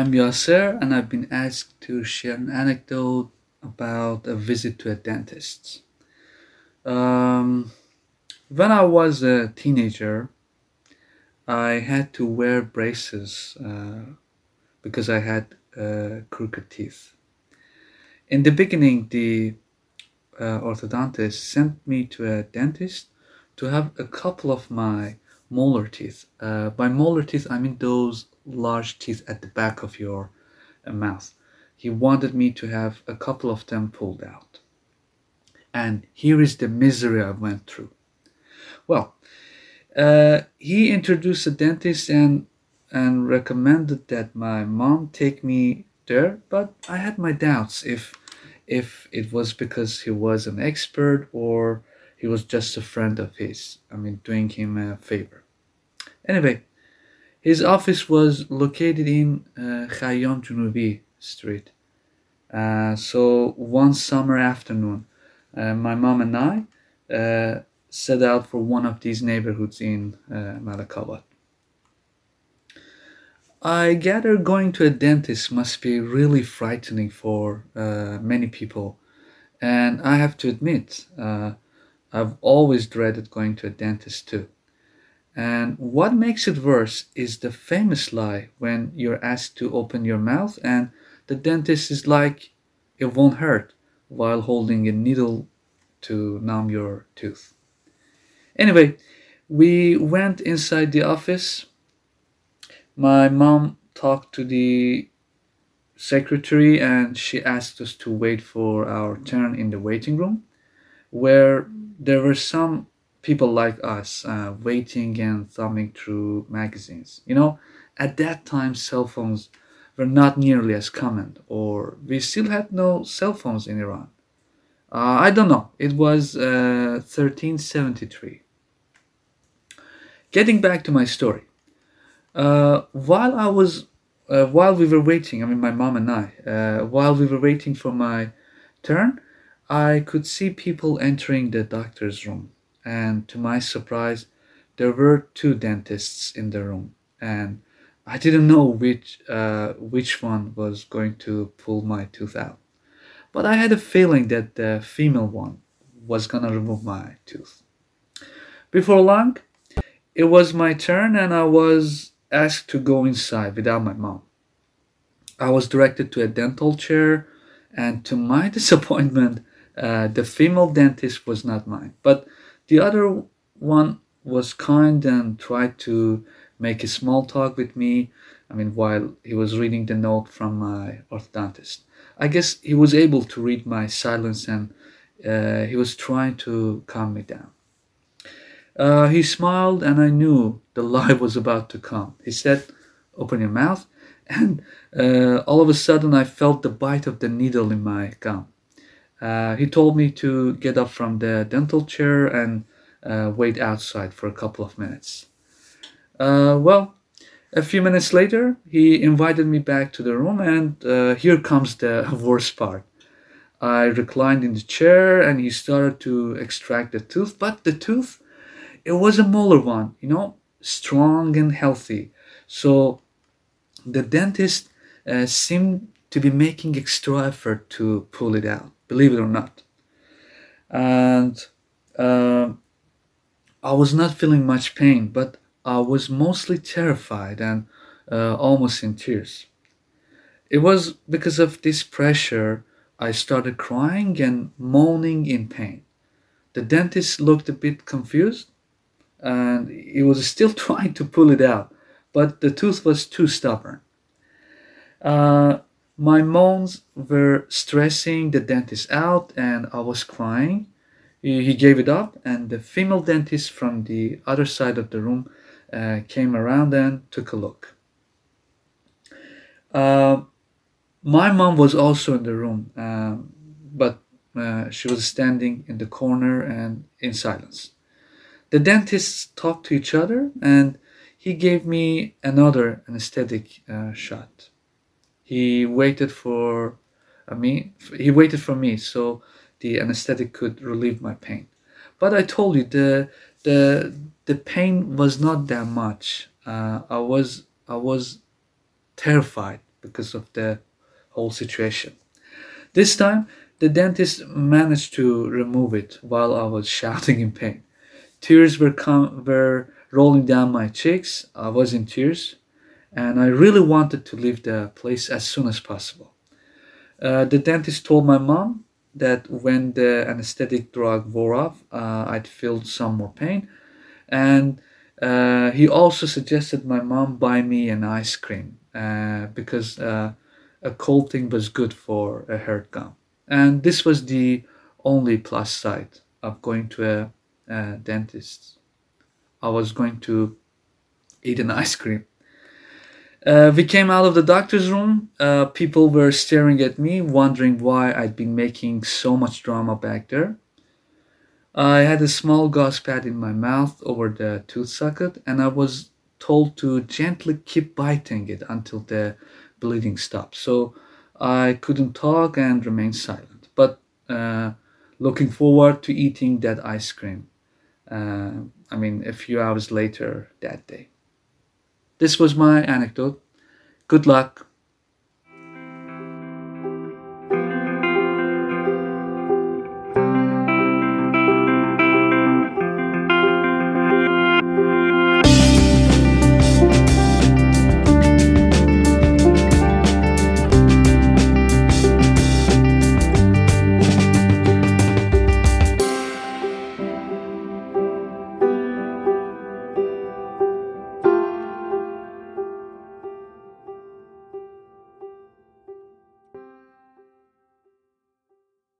I'm Yasser, and I've been asked to share an anecdote about a visit to a dentist. Um, when I was a teenager, I had to wear braces because I had crooked teeth. In the beginning, the orthodontist sent me to a dentist to have a couple of my molar teeth. By molar teeth, I mean those large teeth at the back of your mouth. He wanted me to have a couple of them pulled out. And here is the misery I went through. Well, he introduced a dentist and recommended that my mom take me there, but I had my doubts if it was because he was an expert or he was just a friend of his. I mean, doing him a favor. Anyway, his office was located in Khayyam Junubi Street. So one summer afternoon, my mom and I set out for one of these neighborhoods in Malakabat. I gather going to a dentist must be really frightening for many people, and I have to admit, I've always dreaded going to a dentist too. And what makes it worse is the famous lie when you're asked to open your mouth and the dentist is like, it won't hurt, while holding a needle to numb your tooth. Anyway, we went inside the office. My mom talked to the secretary and she asked us to wait for our turn in the waiting room, where there were some people like us waiting and thumbing through magazines. At that time, cell phones were not nearly as common, or we still had no cell phones in Iran. I don't know. It was 1373. Getting back to my story, while we were waiting, I mean, my mom and I, while we were waiting for my turn, I could see people entering the doctor's room, and to my surprise, there were two dentists in the room, and I didn't know which one was going to pull my tooth out. But I had a feeling that the female one was gonna remove my tooth. Before long, it was my turn, and I was asked to go inside without my mom. I was directed to a dental chair, and to my disappointment, the female dentist was not mine. But the other one was kind and tried to make a small talk with me. I mean, while he was reading the note from my orthodontist. I guess he was able to read my silence and he was trying to calm me down. He smiled, and I knew the lie was about to come. He said, "Open your mouth." And all of a sudden, I felt the bite of the needle in my gum. He told me to get up from the dental chair and wait outside for a couple of minutes. Well, a few minutes later, he invited me back to the room, and here comes the worst part. I reclined in the chair, and he started to extract the tooth, but the tooth, it was a molar one, strong and healthy. So the dentist seemed to be making extra effort to pull it out, believe it or not. And uh, I was not feeling much pain, but I was mostly terrified and almost in tears. It was because of this pressure I started crying and moaning in pain. The dentist looked a bit confused and he was still trying to pull it out, but the tooth was too stubborn. Uh, my moans were stressing the dentist out, and I was crying. He gave it up, and the female dentist from the other side of the room came around and took a look. Uh, my mom was also in the room, but she was standing in the corner and in silence. The dentists talked to each other, and he gave me another anesthetic shot. He waited for he waited for me so the anesthetic could relieve my pain. But I told you the pain was not that much. I was terrified. because of the whole situation. This time, the dentist managed to remove it while I was shouting in pain. Tears were rolling down my cheeks. I was in tears, and I really wanted to leave the place as soon as possible. The dentist told my mom that when the anesthetic drug wore off, I'd feel some more pain, and he also suggested my mom buy me an ice cream because a cold thing was good for a hurt gum. And this was the only plus side of going to a dentist. I was going to eat an ice cream. We came out of the doctor's room. People were staring at me, wondering why I'd been making so much drama back there. I had a small gauze pad in my mouth over the tooth socket, and I was told to gently keep biting it until the bleeding stopped. So I couldn't talk and remained silent, but looking forward to eating that ice cream. A few hours later that day. This was my anecdote. Good luck.